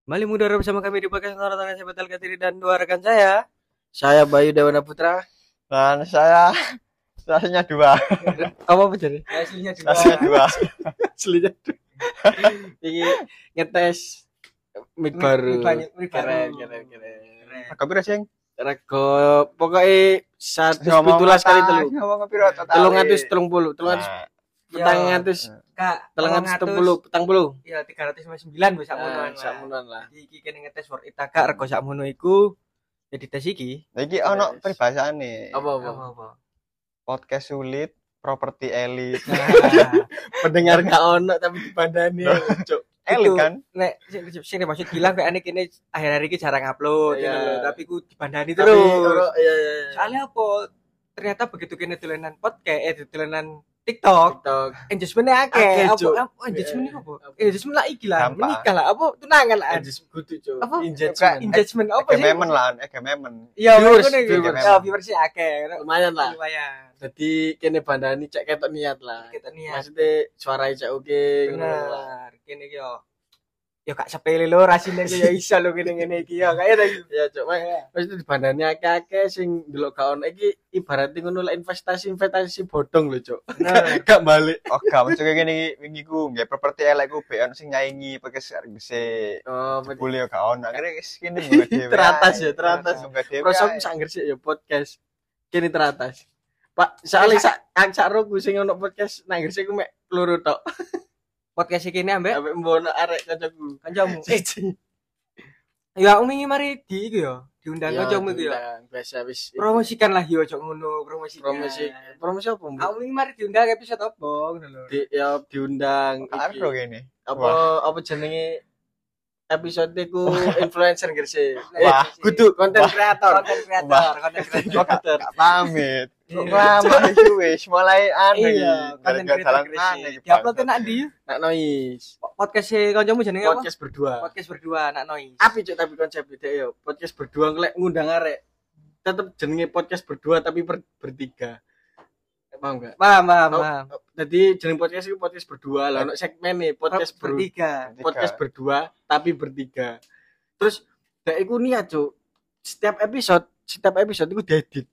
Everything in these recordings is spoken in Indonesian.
Kembali mudara bersama kami di podcast Nonton saya Batal Katiri dan dua rekan saya. Saya Bayu Dewana Putra. Dan saya rasanya dua. Apa jadi? Aslinya dua. Rasanya dua. Aslinya dua. Ini ngetes mic baru. Mic Keren. Kopi rasing. Rego pokoknya 117 kali telu. Ngomong kopi rata. 330. Petang ngatus Kak, 370 petang puluh. Iya 359 wis sakmono lah. Iki kene ngetes Word Itaka rego sakmono iku. Jadi tes iki. Iki ono peribahasane. Apa? Podcast sulit, properti elit. Pendengar gak ono tapi dibandani. Cuk. Elit kan? Nek sing maksud bilang kayak aneh kene akhir-akhir iki jarang upload Iya. gitu loh, tapi ku dibandani Tapi terus. iya. Soalnya apa? Ternyata begitu kene dolanan podcast, dolanan TikTok, engagement-nya akeh. Cuk. Apa engagement iku apa? Engagement lah iki lah, Gampang. menikah lah, apa tunangan lah. Kudu, Cuk. Apa? Engagement. Engagement apa sih? Egememen lah, egememen. Iya, Viewers, ngono iki. viewers. Ya, viewers akeh. Lumayan lah. Lumayan. Jadi kene bandani cek ketok niat lah. Kita niat. Maksudnya suaranya cek oke ngono lah. Bener. Kene iki yo gak sepele lho rasine ku ya iso lho ngene-ngene iki ya. Kayak tadi. Ya cok, maksudnya dibandani akeh-akeh sing delok gak ono iki ibaratnya ngono lah investasi bodong lho cok. Nah, Gak balik. Oh, gak mencuk ngene wingi ku, nggih properti elek ku be ono sing nyaingi podcast gese. Oh, Boleh gak ono. Akhirnya kene mbok dhewe. Teratas ya, teratas. Prosok Prosok sangger sih ya podcast. Kene teratas. Pak, soalnya sak roku sing ono podcast nang Gresik ku mek loro tok. podcast iki ambek Ambek mbono arek kancaku. kancamu. Ya wingi mari di iku ya, diundang Ya, kancamu iku ya. diundang. Biasa wis Promosikan lah yo ojo ngono, promosikan. promosi apa Mbak? Aku wingi mari diundang episode apa ngono lho. Ya diundang Arep lho kene. apa jenenge episode ku influencer Gresik. Wah, kudu konten kreator. Konten Kok kreator. gak pamit. Lama iki wis mulai anu Iya, konten kreator Gresik. Diupload nak ndi? Nak noise. Podcast e kancamu jenenge apa? Podcast berdua. Podcast berdua nak noise. Api cuk tapi konsep beda ya. Podcast berdua ngelek ngundang arek. Tetep jenenge podcast berdua tapi bertiga. Paham enggak? Paham. Jadi jeneng podcast itu podcast berdua lah. Ono segmen nih podcast bertiga. podcast berdua tapi bertiga. Terus dek iku niat cuk. Setiap episode iku diedit.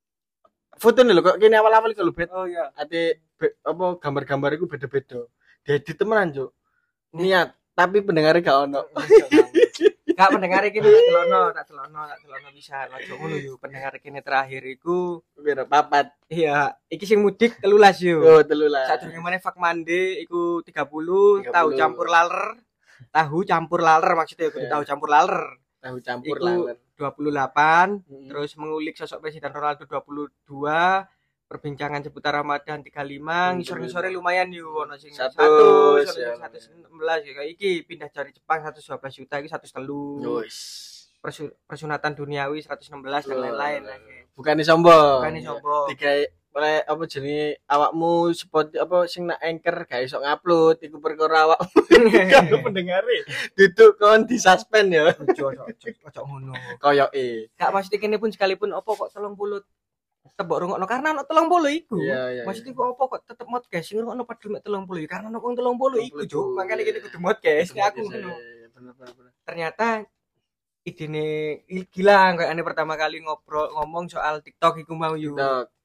Foto nih lho kok kene awal-awal iku lho bet. Oh iya. Ate apa gambar-gambar iku beda-beda. Diedit temenan cuk. Niat tapi pendengarnya gak ono. Kak pendengar iki tak telono bisa. Ojo ngono yo pendengar kene terakhir iku Piro papat. iya, iki sing mudik 13 yo. Oh, 13. Sadurunge meneh Fak Mande iku 30, 30. tahu campur laler. Tahu campur laler maksudnya iku Iya. tahu campur laler. Tahu campur Iku laler. 28, Mm-mm. terus mengulik sosok Presiden Ronaldo 22, perbincangan seputar Ramadan 35, ngisor-ngisore lumayan yo ono sing 1, 100, ya. 116 ya kayak iki pindah dari Jepang 112 juta iki 103. Yois. Persunatan duniawi 116 dan lain-lain lagi. Bukan sombong. Bukan sombong. Digawe oleh apa jenenge awakmu spot apa sing nak anchor gak iso ngupload iku perkara awakmu karo pendengare. Duduk kon di suspend ya. Ojo ngono. Koyoke. Gak maksudnya kene pun sekalipun opo kok 30 tebok rungokno karena ono 30 iku. Iya. Maksudnya kok opo kok tetep podcast sing rungokno padahal mek 30 karena ono wong 30 iku, Cuk. Makane kene kudu podcast kayak aku ngono. Bener. Ternyata idene gila kayak ane pertama kali ngomong soal TikTok iku mau yo.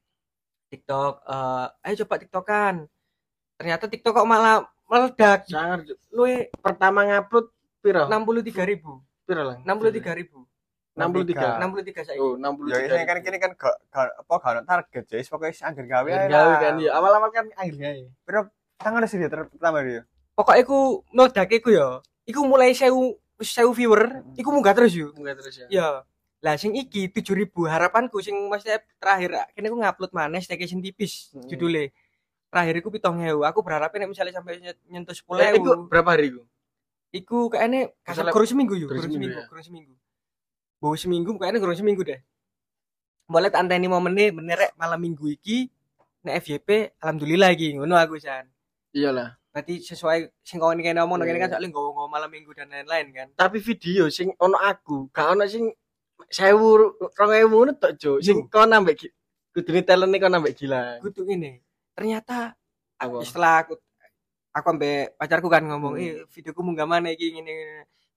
TikTok ayo coba TikTokan. Ternyata TikTok kok malah meledak. Sangar Luwe pertama ngupload piro? 63.000. Piro lah? 63.000. 63. 63 saiki. Oh, Ya 63. ini kan kini kan gak apa gak ono target jadi pokoknya anggar gawe ae Gawe lah. kan ya. Awal-awal kan angel gawe. Pero tangan sih dia pertama dia. Pokoknya iku meledak iku ya. Iku mulai 1000 viewer, iku munggah terus yo. Enggak terus ya. Ya. Lah sing iki 7.000 harapanku sing maksudnya terakhir kene aku ngupload maneh staycation tipis judule. Terakhir iku 7.000. Aku berharap nek misalnya sampai nyentuh 10.000. Iku berapa hari iku? Iku kayaknya Misalnya- kurang seminggu yo, kurang seminggu ya? kurang seminggu. Bawa seminggu kayaknya kurang seminggu deh. Boleh tak anteni momennya bener malam minggu iki nek FYP alhamdulillah iki ngono aku san. Iyalah. Berarti sesuai sing kene ngomong kene kan Iya. soalnya nggawa malam minggu dan lain-lain kan. Tapi video sing ono aku, gak ono sing 1000 2000 ngono tok, Cuk. Sing kon ambek kudune talente kon ambek gila. Kudu ini. Ternyata Apa? setelah aku ambek pacarku kan ngomong, videoku munggah mana iki ngene.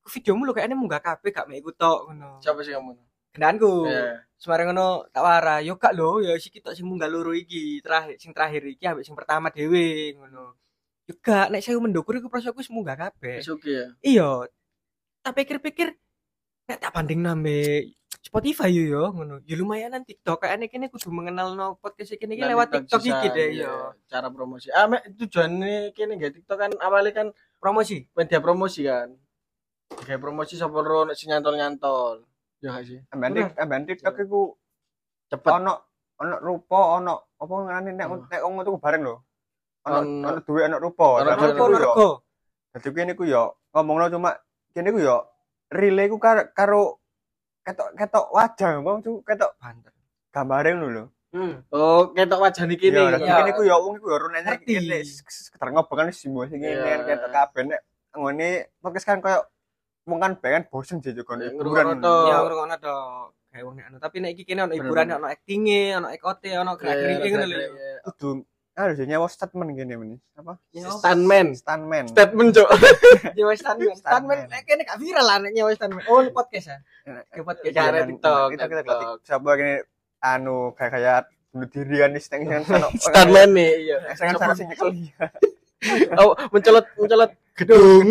videomu lho kayaknya munggah kabeh gak mek iku tok ngono. Siapa sih kamu? Kendanku. Iya. Semare ngono tak wara, yo gak lho, ya iki tok sing munggah loro iki, terakhir iki ambek sing pertama dhewe ngono. Yo gak nek saya mendukur iku prosoku wis munggah kabeh. Wis oke ya. Iya. Tak pikir-pikir nek tak banding nambe Spotify yo ngono. Ya lumayanan TikTok kayaknya kene kudu mengenalno podcast iki Nah, lewat TikTok bisa, iki deh iya. yo. Cara promosi. Mek tujuannya kene nggak TikTok kan awalnya kan Promosi. media promosi kan. Kayak promosi sapa ro nek sing nyantol-nyantol. Ya gak sih? Amben TikTok iku Cepet. ono rupa apa ngene nek wong tuku bareng lho. Ono duwe ono rupa. Ono Dadi rupa, ku yo- Rego. Dadi kene ku yo ngomongno cuma kene ku yo relay ku karo ketok wajah wong tuh ketok Banter. gambare ngono lho. Oh, ketok wajah niki Iya, nih. kene ku yo wong iku yo rene Ngerti. kene sekedar ngobrol kan simbol sing Iya. ngene ketok kabeh nek ngene podcast kan koyo wong kan pengen bosen sih juga Iya, hiburan. ngrungokno Ya ngrungokno to. Kayak wong nek anu, tapi nek iki kene ono hiburan, ono acting-e, ono ekote, ono gerak-gerike ngono lho. Kudu harus nyawa statement gini ini. Apa? Stuntman. Stuntman. Statement, Cuk. Nyawa stuntman. Stuntman nek kene gak viral lah nek nyawa stuntman. Oh, ini podcast ya. Ke podcast. Iya, ada TikTok, Kita TikTok. siapa gini anu kayak bunuh diri kan di setengah sana. Stuntman nih, iya. Setengah sana sing nyekel dia. Oh, mencolot gedung.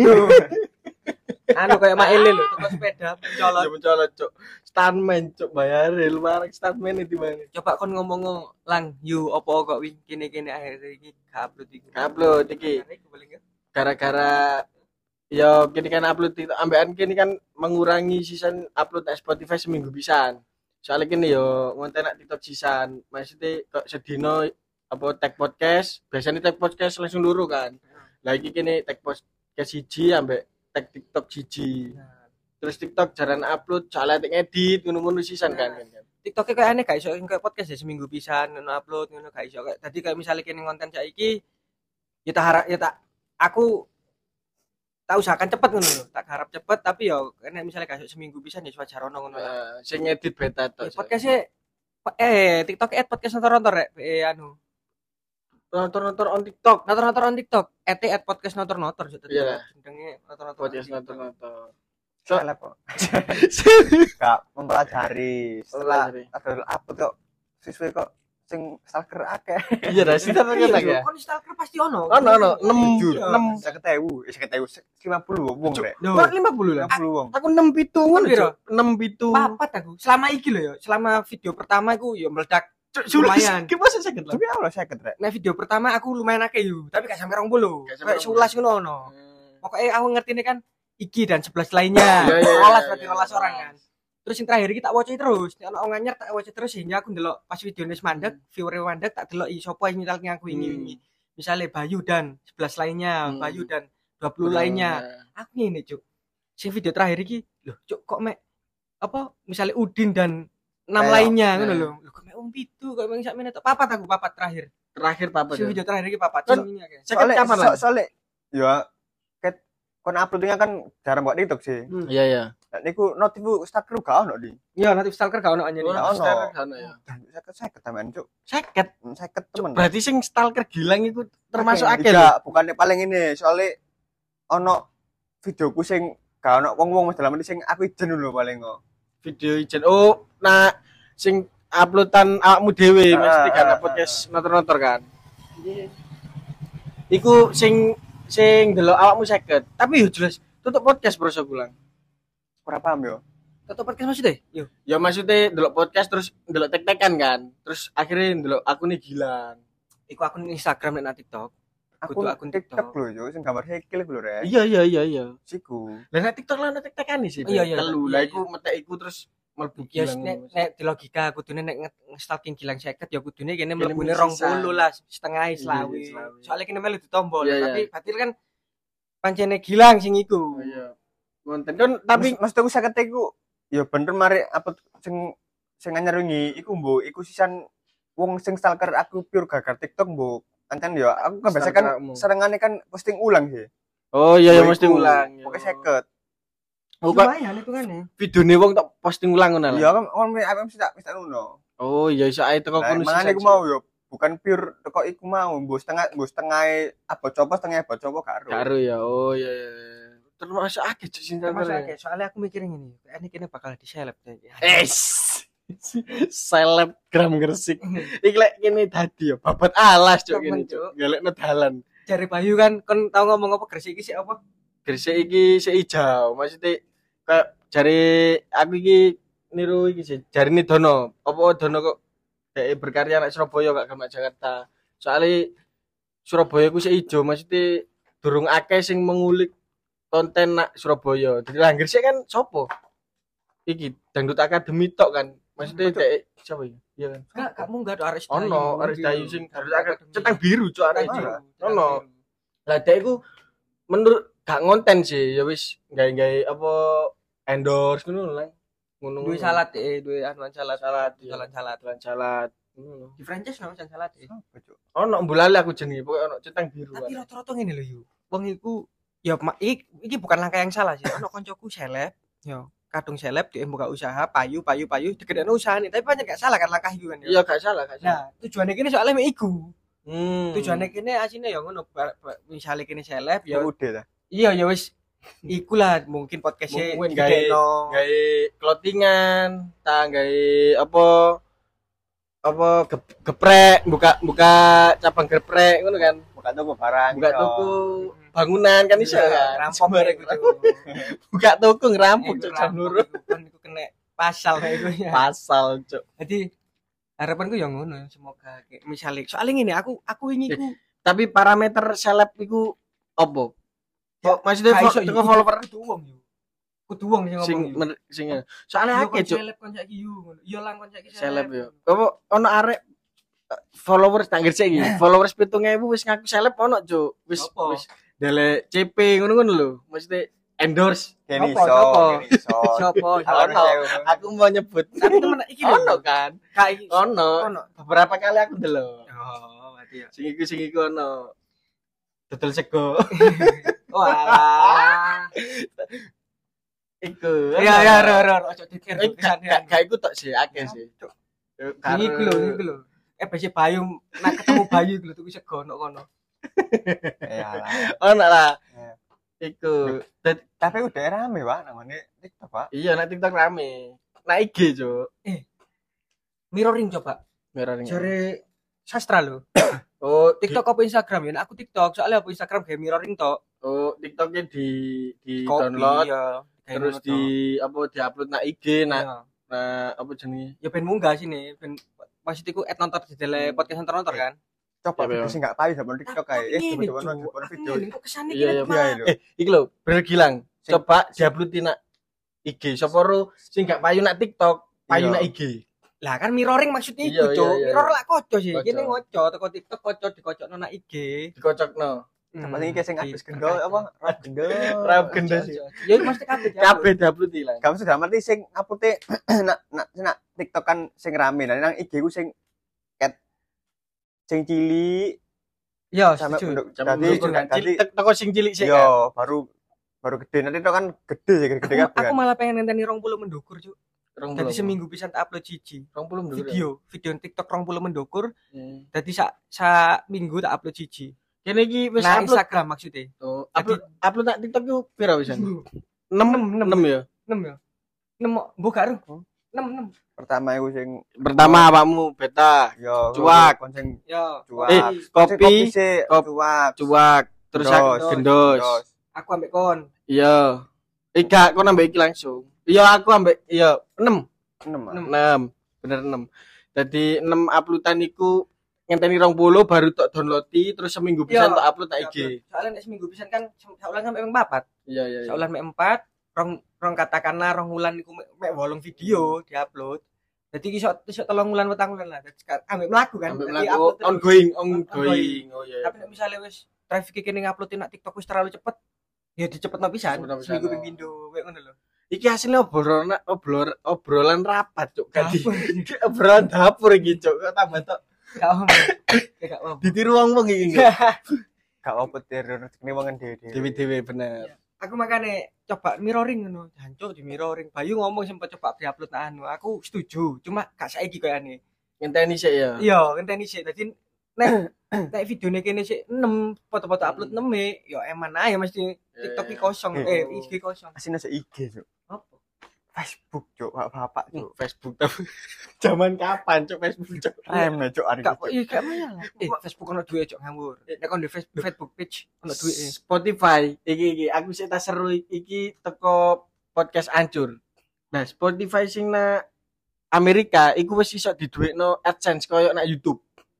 Anu kayak Maele lho, toko sepeda mencolot. Ya mencolot, Cuk. Stuntman, Cuk, bayarin lumayan stuntman itu mana? Coba kon ngomong lang, you opo kok wing kene-kene akhir iki gak upload iki. Upload iki. Gara-gara ya kini kan upload itu ambekan kini kan mengurangi season upload nang Spotify seminggu pisan. Soalnya kini yo ngonten nak TikTok sisan. Maksudnya kok sedino apa tag podcast, biasanya tag podcast langsung luru kan. Lagi kini tag podcast siji ambek tag TikTok siji. Terus TikTok jarang upload, soalnya ngedit ngono-ngono sisan kan. TikTok kayak aneh gak iso kayak podcast ya seminggu pisan ngono upload ngono gak iso. Tadi kayak misalnya kene konten saiki ya tak harap ya tak aku tak usahakan cepet ngono lho. Tak harap cepet tapi ya kene misalnya gak iso seminggu pisan ya wajar ono ngono lah. Sing ngedit beta to. Podcastnya TikTok podcast nonton rek anu Nonton on TikTok. nonton on TikTok @podcast nonton Iya. jenenge nonton Podcast nonton. Salah kok. Gak mempelajari. Setelah ada apa kok siswa kok sing stalker akeh. Iya, dah sih kan ya. kon stalker pasti ono Ono 6 50 wong rek. Loh, 50 lah. 50 wong. Aku 6 pitu ngono, Piro? Cuk. 6 pitu. papat aku selama iki lho ya selama video pertama aku ya meledak lumayan. Ki masa sakit lah. Tapi Allah sakit rek. Nah video pertama aku lumayan akeh yo tapi gak sampe 20 Gak sampe kayak 11 ngono ono pokoknya aku ngerti ini kan iki dan 11 Iya, lainnya iya, iya, 12 berarti iya. 12 orang kan terus yang terakhir iki tak waca terus nek ono nganyar tak waca terus sehingga aku ndelok pas videone mandek viewer mandek tak delok sapa yang nyetelke aku ini misalnya Bayu dan 11 lainnya Bayu dan 20 lainnya aku ngene cuk sing video terakhir iki lho cuk kok mek apa misalnya Udin dan 6 lainnya ngono lho kok mek pitu kok mek sakmene tok papat aku papat terakhir Terakhir sing video terakhir iki papat Kan- sing ini akeh Sakit kapan lah? Soalnya ya kon uploadnya kan jarang buat TikTok sih. Iya, iya. Nek niku notifu stalker gak ono di. iya nanti stalker gak ono anjir Ono. Ono ya. Sakit teman cuk. Sakit. Sakit temen. Berarti sing stalker gilang itu termasuk akeh. Tidak, bukannya paling ini. Soalnya ono videoku sing gak ono wong-wong mas dalam ini sing aku ijen dulu paling kok. Video ijen. Oh, nah sing uploadan awakmu dhewe mesti kan podcast nonton kan. Iku sing delok awakmu 50. Tapi yo jelas tutup podcast bro gulang. Kurang paham yo. tutup podcast maksudnya yo Ya maksudnya delok podcast terus delok tek-tekan kan. Terus akhirnya delok aku nih gilang. iku akun Instagram dan TikTok Aku Kudu akun TikTok TikTok. lho yo sing gambar hekil iku lho rek. Iya. Siku. Lah nek TikTok lah nek tek-tekan sih. Iya, iya. Telu. Iya, Lah iya. iku metek iku terus mlebu ya gilang. nek di logika kudune nek nge-stalking Gilang 50 ya kudune kene Kene mlebune sisa. 20 lah setengah Iya, selawi selawi. soalnya kene melu ditombol Iya, tapi iya. berarti kan pancene Gilang sing iku Iya. Konten kan tapi maksud aku sakit iku ya bener mari apa sing anyar wingi iku mbok iku sisan wong sing stalker aku pure gagar TikTok mbok kan ya aku kan biasa kan Stalker-mu. serengane kan posting ulang sih. Oh iya Mbok mesti iku, ulang. Pokoknya sakit. Oh kok lumayan itu kan ya videone wong tak posting ulang ngono Iya lah. kan aku mesti tak nuno. Oh iya iso ae teko kono Mangane aku mau yo bukan pure teko iku mau mbok setengah apa coba setengah apa coba karo. Karo ya. Oh iya. Termasuk akeh cuk sing Termasuk stalker. akeh. Soalnya aku mikirin ini, kayaknya bakal di seleb. Selebgram Gresik. Iki lek kene dadi yo babat alas cuk Temen, kene Cuk. cuk. Galekno dalan. Jari Bayu kan tau ngomong apa Gresik iki sih apa? Gresik iki sik ijo. Maksudnya kayak jari aku iki niru iki sih. Jarine Dono. Apa Dono kok dhek berkarya nek Surabaya gak gamak Jakarta. Soalnya Surabaya ku sik ijo, maksudnya durung akeh sing mengulik konten nak Surabaya. Jadi lah Gresik kan sopo? Iki Dangdut Academy tok kan. Maksudnya dhek siapa ya? Iya kan. Gak munggah do Aris Dayu. Ono Aris Dayu sing Dangdut Dangdut Academy. Centang Biru cuk arek Centang iki. Biru. Ono. Lah dhek iku menurut gak ngonten sih, ya wis gawe-gawe apa endorse ngono lah. Ngono. Duwe salad duwe anuan salad. Salad, Salad. salad. Di franchise no salad Apa, Cuk? Ono mbulale aku jenenge, pokoke ono Centang Biru. Tapi rata-rata ngene lho yu. Wong iku ya iki bukan langkah yang salah sih. Ono koncoku seleb, yo kadung seleb dia buka usaha payu digedekno usahane, tapi banyak gak salah kan langkah iku kan Iya gak salah, gak salah. Nah, tujuannya kene soalnya mek iku. Hmm. Tujuannya kene asine ya ngono, misale kene seleb ya Udah lah. iya ya wis iku lah mungkin podcastnya Mungkin digedekno. gawe clothingan, ta gawe apa geprek, buka cabang geprek ngono kan. Buka toko barang. Buka iso. toko bangunan kan iso kan. Rampok Sembarang iku. buka toko ngerampok cuk jam loro. Iku kena pasal kayak iku ya. Pasal cuk. Jadi harapanku yang ngono semoga kayak misalnya soalnya ngene aku ini ku Tapi parameter seleb iku opo? Ya, Maksudnya gak iso, teko Yu. follower kudu wong yo. Kudu wong sing ngomong. sing soalnya akeh cuk Seleb kon saiki yo ngono. Yo lang kon saiki seleb yo. Apa ono arek followers tak ngerti iki. Followers 7.000 wis ngaku seleb ono cuk. Wis Apa? wis delek CP ngono-ngono lho. Maksudnya endorse. Kene Apa, iso. apa? Kene iso. Sopo? Ono. Aku mau nyebut. Tapi temen iki lho. Ono kan? Kak iki. Ono. Ono. Beberapa kali aku delok. Oh, berarti ya. Sing iku ono. Dodol sego. Wah. Iku. Ya ro ojo dikir. Gak iku tok sih, akeh sih. Ini iku lho. Besi Bayu nak ketemu Bayu iku lho tuku sego ono kono. Iyalah. Ono lah. Ya. Iku. Tapi udah rame, Pak, namanya TikTok, Pak. Iya, nek TikTok rame. Nek IG, Cuk. Mirroring coba. Mirroring. Jare sastra lho. Oh, TikTok apa Instagram ya? Nah, aku TikTok soalnya apa Instagram kayak mirroring tok. Oh, TikToknya di Copy, download ya. terus Kayak ngono tok. diupload nak IG Iya. nah apa jenenge? Ya ben munggah sini, ben maksudku nonton di tele podcast nonton kan. Coba Iya, video sing gak payu sama TikTok kayak Ini, coba Cuk. video. Ini kok kesane Iya, iya, gini, iya, Pak. lho. Iki lho, bener Gilang. Sing- Coba diupload di nak IG. Sapa ro sing gak payu nak TikTok, payu Iya. nak IG. Lah kan mirroring maksudnya Iya, itu, Cuk. iya, iya. Mirror lah koco sih. Koco. Kene ngoco teko TikTok koco dikocokno nang IG. Dikocokno. Coba sing sing abis gendo apa? Rap gendo. Rap gendo sih. Ya mesti kabeh. Kabeh diupload Gilang. Kamu sudah mati sing upload nak TikTok kan sing rame nang IG ku sing cat sing cilik Ya, sampai setuju. bentuk Sampai jadi bentuk kan. jadi Teko sing cilik sih. yo baru gede nanti itu kan gede sih gede Aku kan. malah pengen ngenteni 20 mendukur, Cuk. Kan. Dadi seminggu bisa tak upload siji. 20 dulu. Video TikTok 20 mendukur. Hmm. Dadi sak minggu tak upload siji. Kene iki wis Nah, upload. Instagram maksudnya. Oh, upload nak TikTok yo pira wisan? 6 ya. 6 ya. 6 mbok gak ero. 6. Pertama itu sing Pertama awakmu beta, yo Cuak. kon sing Ya, cuak. kopi, sih kop- cuak. cuak, terus Gendos. gendos. aku ambek kon. Iya. Ika, kok nambah iki langsung. Iya, aku ambek 6. 6. Bener 6. Jadi 6 uploadan iku ngenteni 20 baru tok downloadi terus seminggu bisa Iya. tak upload nak IG. Soalnya nek seminggu pisan kan saulan sampai 4. Iya, iya, iya. Saulan mek 4, rong katakanlah rong wulan iku mek 8 video diupload. Jadi iso 3 wulan 4 wulan lah. Dadi ambek mlaku kan. Sampai Dadi melaku upload terus. ongoing. Ongoing. Oh iya. Tapi nek misalnya wis traffic kene nguploadin nak TikTok wis terlalu cepet, ya dicepetno pisan. Cepetno pisan, Seminggu oh. ping pindho kayak ngono lho. Iki hasilnya obrolan rapat, Cuk. Ganti. Obrolan dapur iki, Cuk. Kok tambah tok Gak om. Gak om. ditiru wong-wong iki. Gak apa terus rezeki wong dhewe. Dewe-dewe bener. Aku makanya coba mirroring ngono. Jancuk di mirroring. Bayu ngomong sempat coba diupload anu. Aku setuju. Cuma gak saiki koyane. Ngenteni sik ya. Iya, ngenteni sik. Dadi nek videone kene sik 6, foto-foto upload 6 yo eman ae mesti TikTok iki kosong, IG kosong. Asine sik IG, Cuk. Apa? Facebook, Cuk. Bapak, Cuk. Facebook tapi zaman kapan Cuk Facebook Cuk? Reme, Cuk, hari Gak Cuk. iya gak masalah. Facebook ono duwe cok ngawur. Nek kon di Facebook page ono duwe. Spotify iki aku sik tak seru iki teko podcast ancur. Nah, Spotify sing na Amerika iku wis iso diduwekno AdSense koyo nak YouTube.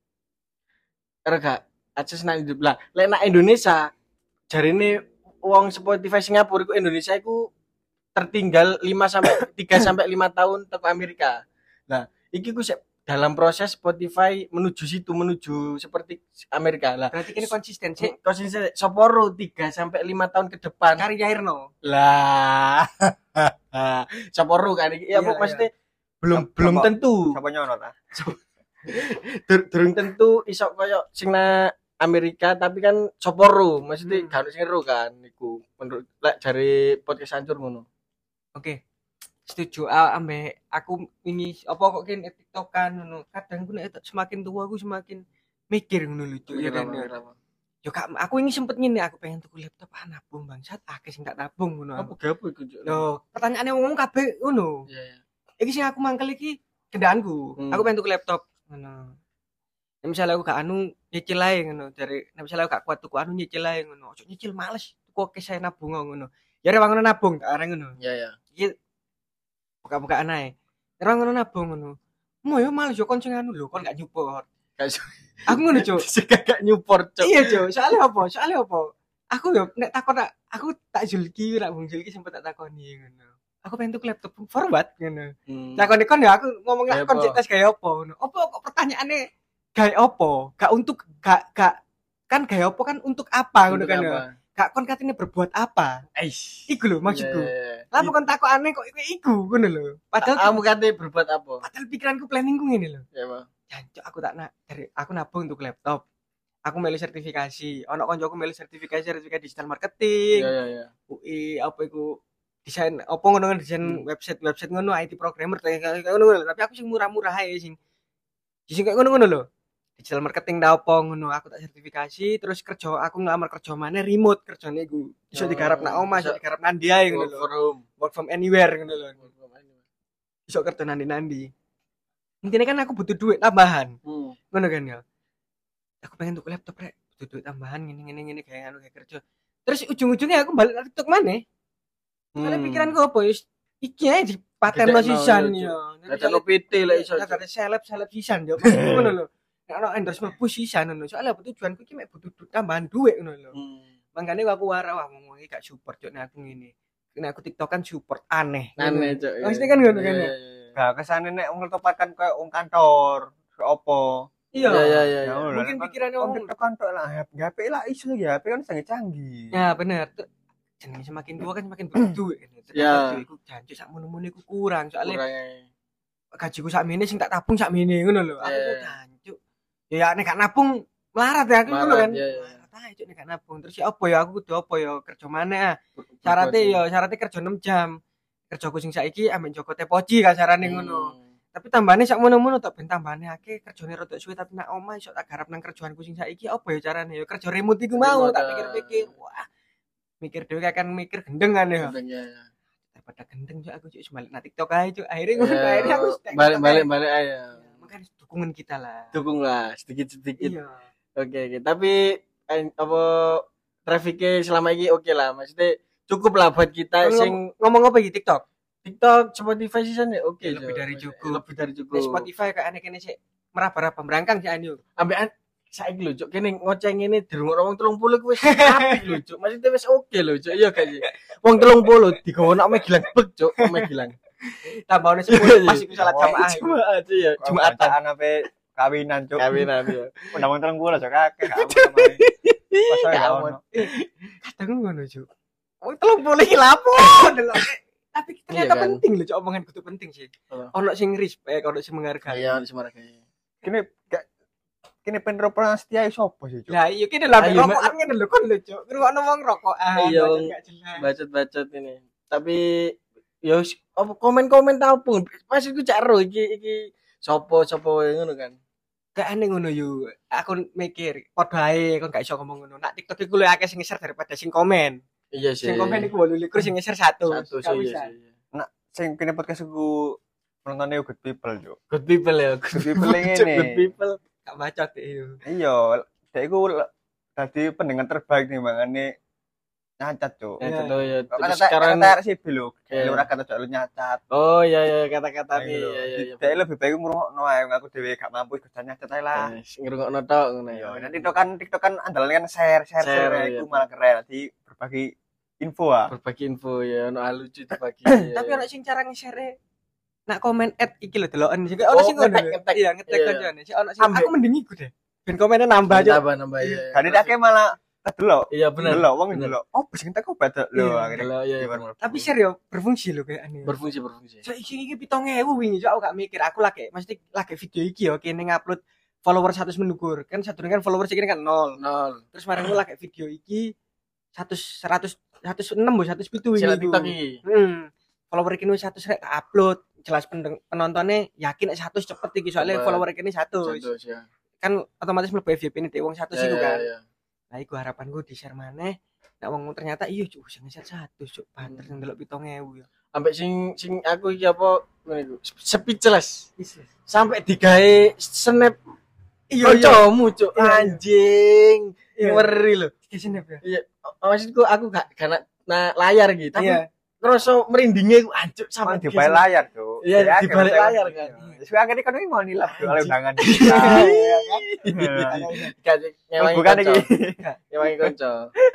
Ora gak AdSense nak YouTube lah. Lek nak Indonesia jarine wong Spotify Singapura iku Indonesia iku tertinggal 3 sampai 5 tahun teko Amerika. Nah, iki ku dalam proses Spotify menuju seperti Amerika lah. Berarti kene konsisten sih. Konsisten Soporo 3 sampai 5 tahun ke depan. Karya Irno. Lah. Soporo kan iki. Ya Iya, maksudnya belum tentu. Siapa nyono ta? Durung tentu iso koyo sing na Amerika tapi kan Soporo maksudnya gak ono sing ero kan iku menurut lek jare podcast hancur ngono. Oke. Setuju ambek aku ini apa kok kene TikTokan ngono. Kadang ku nek semakin tua aku semakin mikir ngono lho Cuk, ya kan. Yo kak aku ini sempet ngene aku pengen tuku laptop nabung bangsat akeh sing tak tabung ngono. Apa gapo iku Cuk? Lho, pertanyaane wong kabeh ngono. Iya. Iki sing aku mangkel iki kendaraanku. Aku pengen tuku laptop ngono. Nek misalnya aku gak nyicil ae ngono dari nek misalnya aku gak kuat tuku nyicil ae ngono. Ojo nyicil males. Tuku oke saya nabung ngono. Ya ora ngono nabung tak areng ngono. Iya. Iki buka-bukaan ae. Ora ngono nabung ngono. Mo yo males yo kon sing lho kon gak nyupport. Aku ngono Cuk. Sing gak nyupport Cuk. Iya Cuk, soalnya apa? Aku yo nek takon aku tak Julki rak Bung Julki sempet tak takoni ngono. Aku pengen tuku laptop forward ngono. Takoni kon ya aku ngomong lak kon tes gaya apa ngono. Apa kok pertanyaane gaya apa? Gak untuk gak kan gaya apa kan untuk apa ngono kan ya. Gak kon katene berbuat apa? Iku lho maksudku. Lah kon takokane kok iku ngono lho. Padahal kamu katene berbuat apa? Padahal pikiranku planningku ngene lho. Ya, Pak. Jancuk aku tak dari aku nabung untuk laptop. Aku melu sertifikasi. Ono koncoku melu sertifikasi digital marketing. Iya. UI apa iku desain apa ngono desain website ngono IT programmer kayak ngono tapi aku sing murah-murah ae sing kayak ngono lho. Digital marketing ta apa ngono aku tak sertifikasi terus kerja aku ngelamar kerja maneh remote kerjane iku. Iso digarap nak omah, iso digarap nandi ae ngono lho. Work from anywhere ngono lho. Iso kerja nandi-nandi. Intinya kan aku butuh duit tambahan. Ngono kan ya. Aku pengen tuku laptop rek, butuh duit tambahan ngene kayak kerja. Terus ujung-ujungnya aku balik lagi TikTok maneh. Karena pikiranku apa ya iki ae dipatenno sisan ya. Ada PT lek iso. Ada seleb sisan yo. Ngono lho. Nek ono endorsement push sisan ngono. Soale tujuanku iki mek butuh tambahan duit ngono lho. Mangkane aku wara ngomong iki gak support yo nek aku ngene. Nek aku TikTok kan support aneh. Aneh, Cuk. Maksudnya kan ngono kan ya. Gak kesane nek wong topakan koyo wong kantor, opo. Iya. Mungkin pikirannya wong kantor lah, HP lah iso ya, HP kan canggih. Ya bener. Jenenge semakin tua kan semakin butuh duit. Ya. Iku janji sak mono-mono iku kurang soalnya gajiku sak mene sing tak tabung sak mene ngono lho. Aku kok jancuk. Ya nek gak nabung melarat ya aku ngono kan. Melarat ae cuk nek gak nabung. Terus ya apa ya aku kudu apa ya kerja maneh. Syaratnya kerja 6 jam. Kerjaku sing saiki ambek Joko Tepoji kasarane ngono. Tapi tambahane sak mono-mono tak ben tambahane akeh kerjane rada suwe tapi nak omah iso tak garap nang kerjaanku sing saiki apa ya carane ya kerja remote iku mau tak pikir-pikir. Wah. Mikir dhewe kan mikir gendengan ya. Daripada gendeng cuk aku cuk balik nang TikTok ae cuk. Akhirnya aku balik ae. Makanya dukungan kita lah. Dukunglah sedikit-sedikit. Iya. Oke. Tapi apa trafficnya selama ini oke lah. Maksudnya cukup lah buat kita sing ngomong apa iki TikTok? TikTok, Spotify season ya oke. Lebih dari cukup. Di Spotify kayak aneh-aneh sih meraba-raba merangkang sih anu. Ambekan saiki lho cuk kene ngoceh ngene dirungokno wong 30 ku wis apik lho cuk. Maksudnya wis oke lho cuk. Iya gak sih. Wong 30 digowono ame gilang bek cuk, ame gilang. Tambahane 10 pas iku salat jamaah. Jamaah aja ya. Jumatan ape kawinan cuk. Kawinan ya. Undang 30 cuk kakek gak ono. Kadang ngono cuk. Wong 30 iki lapo delok. Tapi ternyata penting lho cuk omongan kudu penting sih. Ono sing respect, ono sing menghargai. Iya, ono sing menghargai. Kene penropolan setia sapa sih cuk? Lah iya kene lho rokokan ngene lho kon lho cuk. Ngrungokno wong rokokan. Iya, bacot-bacot ini. Tapi yo apa komen-komen ta opo? Pas iku cak ro iki sapa ngono kan. kayak aneh ngono yo. Aku mikir padha ae kon gak iso ngomong ngono. Nak TikTok iku luwih akeh sing nge-share daripada sing komen. Iya sih. Sing komen iku 28 sing nge-share 1. Satu sih. Nak sing kene podcast iku penontonnya good people yo. Good people ya. Good people ngene. Good people. Gak bacot yo. Iya, dek iku dadi pendengar terbaik nih mangane nyacat, Cuk. Ya tentu ya. Kata Sekarang kata sih lho. Iya. Ora kata cok lu nyacat. oh iya kata-kata nih. Iya. Dek lebih baik ngrungokno ae aku dhewe gak mampu iku nyacat ae lah. Ngrungokno tok ngono ya. Iya, nanti TikTok kan andalan kan share Share, iku iya. malah keren. Jadi berbagi info ah. Berbagi info ya, ono lucu dibagi. Tapi ono sing cara nge-share nak komen iki lho deloken juga ono sing ngono. ngetek. Iya, ngetek Iya. koncone. Sik ono sing Ambek. aku mending iku deh. Ben komennya nambah aja. Nambah ya. Kan akeh malah delok. Iya bener. Delok wong Bener. delok. Oh, sing tak obat lho Iya, akhirnya. Delok, iya, bener. Tapi share yo berfungsi lho kayak aneh. Berfungsi. So iki 7.000 wingi so aku gak mikir aku lagi mesti lagi video iki yo kene ngupload follower 100 mendukur kan sadurunge kan follower iki kan 0. Nol. Terus marang lagi video iki 106 bo 107 wingi. Sila iku. TikTok iki. Follower iki wis 100 rek tak upload. Jelas penontonnya yakin 100 cepet iki soalnya Cepet. follower iki 100. Contoh ya. Kan otomatis mlebu FYP ini wong 100 iku kan. Iya. Nah iku harapanku di-share maneh. Nek wong ternyata iya cuk sing nge-share 100 cuk banter sing delok 7.000 ya. Ambek sing aku iki apa ngene iku. Speechless. Sampai digawe snap kancamu cuk. Iya. Anjing. Iya. Ngeri lho. Iki snap ya. Iya, maksudku aku gak nah layar gitu. Tapi Iya. ngerasa merindingnya ku ancuk Sama sampai di balik layar, Cuk. Iya, Ya, di balik akhirnya layar saya- kan. Wis akhirnya kan mau nilap Cuk, oleh undangan. Iya kan. Nyewangi Bukan kanca. iki. Nyewangi kanca.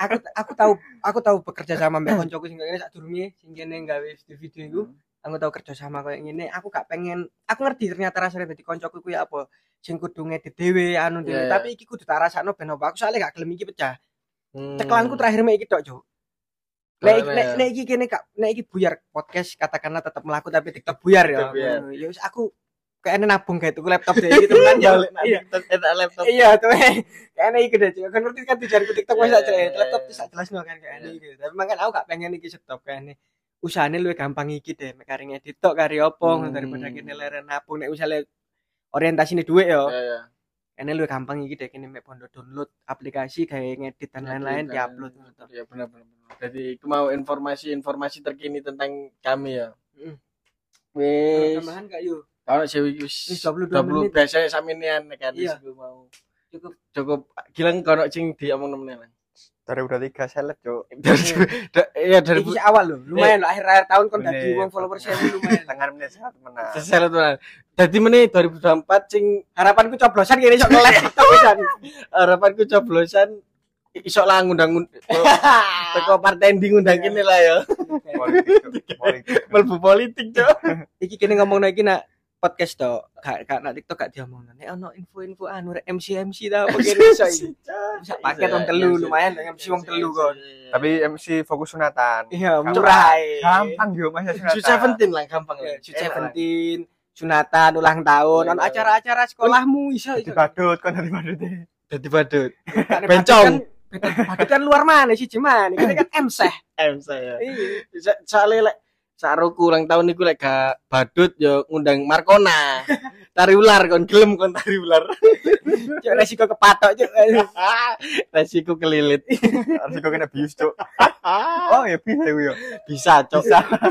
Aku tahu bekerja sama mbak koncoku sing ngene sadurunge sing kene gawe video iku. Aku tahu kerja sama kayak ngene, aku gak pengen, aku ngerti ternyata rasanya dadi koncoku kuwi apa. Sing kudu ngedit dhewe anu dhewe, Iya. tapi iki kudu tak rasakno ben apa. Aku soalnya gak gelem iki pecah. Hmm. Ceklanku terakhir mek iki tok, Cuk. Nek iki kene nek iki buyar podcast katakanlah tetap melaku tapi TikTok buyar ya. TikTok buyar. Ya wis aku kayaknya nabung kayak tuku laptop deh gitu kan. balik Iya. laptop. Iya tuh kayaknya iku deh Cuk. Kan ngerti kan tujuanku TikTok wis Iya, aja iya, laptop iya. bisa jelasno kan kayaknya iki. Tapi makan aku gak pengen iki stop kayaknya. Usahane luwih gampang iki deh mek kari ngedit tok kari opo daripada kene leren nabung nek misale orientasine dhuwit ya. Iya. Kene luwih gampang iki deh kene mek pondo download aplikasi gawe ngedit dan lain-lain diupload ngono tok. Ya benar. Jadi aku mau informasi terkini tentang kami ya. Heeh. Wis. Tambahan gak yo? Kalau sih wis Wis 22 20 menit. biasanya sampean kan Iya. aku mau. Cukup gilang kono sing diomong nemen lah. 2003 seleb, Cuk. Iya dari Iki awal lho, lumayan lho akhir-akhir tahun kon dadi Bener. wong follower 1000 lumayan. Tangan menit sehat menang. seselet tenan. Dadi meneh 2024 sing Harapanku coblosan kene sok nge-live TikTok pisan. harapanku coblosan iso lah ngundang teko partai ndi ngundang kene lah ya. Politik. Melbu politik, Cuk. Iki kene ngomongno iki nak podcast to, gak nak TikTok gak diomongno. Nek ono info-info anu rek MC ta apa kene iso iki. Bisa paket wong telu lumayan MC wong telu kon. Tapi MC fokus sunatan. Iya, murah ae. Gampang yo Mas sunatan. Shoot 17 lah gampang lah. Shoot 17, sunatan ulang tahun, ono acara-acara sekolahmu iso Di badut kon dari badut. Dadi badut. Bencong. Badut kan luar mana sih cuman ini kan emseh. saya. Iya. Soalnya lek saruku ulang tahun niku lek gak badut yo ngundang Markona. Tari ular kon gelem kon tari ular. Cuk resiko kepatok cuk. Resiko kelilit. Harus kok kena bius, Cuk. Oh, ya bisa yo. Bisa, Cok.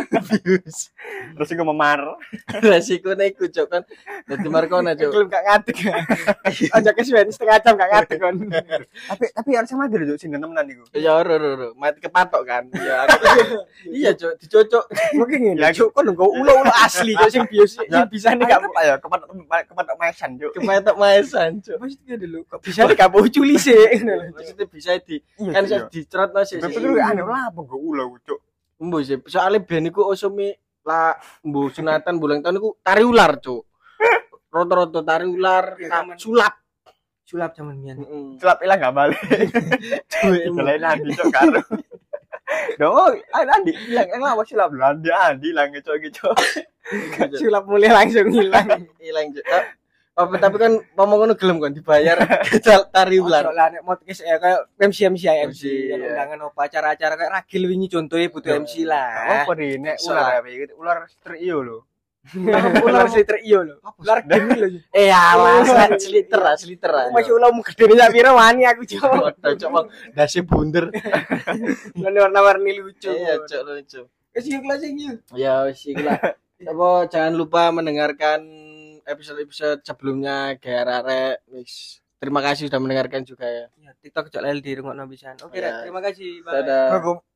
Bius. Terus kok memar. Resiko iku, Cok kan. Dadi Markona, Cok. Gelem gak ngadeg. Aja kesuwen setengah jam gak ngadeg kon. Tapi harusnya mati lho, Cuk, sing temenan iku. Ya oro. Mati kepatok kan. Ya. Iya, Cok, dicocok. Mungkin ngene cuk kon nggo ulo-ulo asli cuk sing bios sing bisa nih gak apa ya kepatok mesan, Cuk. Kepatok maesan, Cok. maksudnya dulu kok bisa nih gak bocul sih. Maksudnya bisa kan bisa dicerotno sih. Betul kan anu lah apa go ulo, Cuk. Mbo sih. Soale ben iku osome lah mbo sunatan bulan tahun iku tari ular, Cuk. Roto-roto tari ular, sulap. Sulap zaman mian. Celap ilang gak balik. Selain Andi, Cuk, karo. Dong, Andi ilang apa sulap lho? Andi ilang, Cuk, gitu. Sulap mulai langsung hilang. Hilang, Cuk. Tapi kan ngomong ngono gelem kan dibayar tari ular. Lah nek podcast kayak MC MC, yang iya. undangan apa acara-acara kayak ragil wingi contohnya butuh MC lah. Apa di nek ular apa gitu? Ular strio lho. Ular sliter iyo lho. Ular gini lho. Alah, sliter. Masih ularmu gede sak pira wani aku cok. Coba dasi bunder. Warna-warni lucu. Iya, cok lucu. Wis yuk kelas iki. Ya wis iki lah. Apa jangan lupa mendengarkan episode-episode sebelumnya kayak Rare. Wis. Terima kasih sudah mendengarkan juga ya. Ya, TikTok cok lel di rungokno pisan. Oke, Ya. terima kasih. Bye. Dadah. Aku